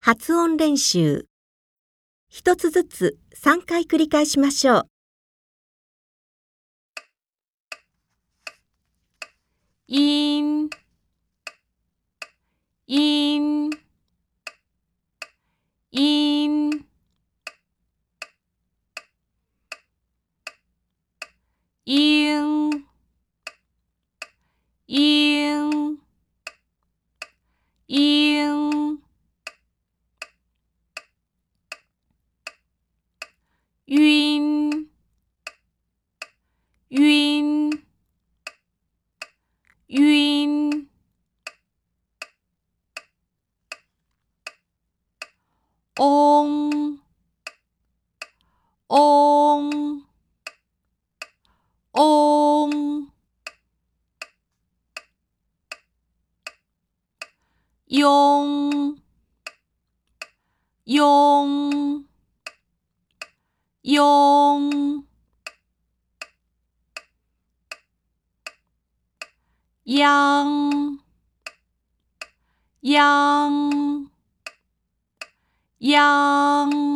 発音練習。一つずつ3回繰り返しましょう。 in, in, in, in, in, in,晕，晕，晕，嗡，嗡，嗡，拥，拥，拥，央，央，央。